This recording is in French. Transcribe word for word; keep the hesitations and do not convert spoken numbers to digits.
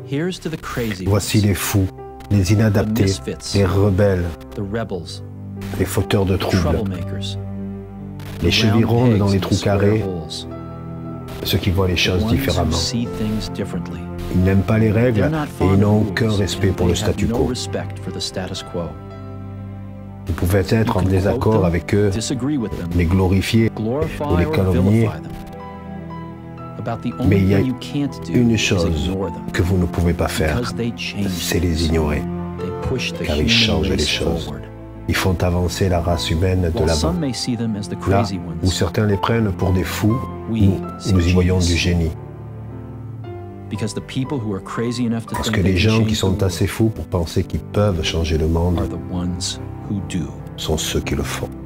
Voici les fous, les inadaptés, les rebelles, les fauteurs de troubles, les chevilles rondes dans les trous carrés, ceux qui voient les choses différemment. Ils n'aiment pas les règles et ils n'ont aucun respect pour le statu quo. Vous pouvez être en désaccord avec eux, les glorifier ou les calomnier, mais il y a une chose que vous ne pouvez pas faire, c'est les ignorer, car ils changent les choses. Ils font avancer la race humaine de l'avant. Là où certains les prennent pour des fous, nous, nous y voyons du génie. Parce que les gens qui sont assez fous pour penser qu'ils peuvent changer le monde sont ceux qui le font.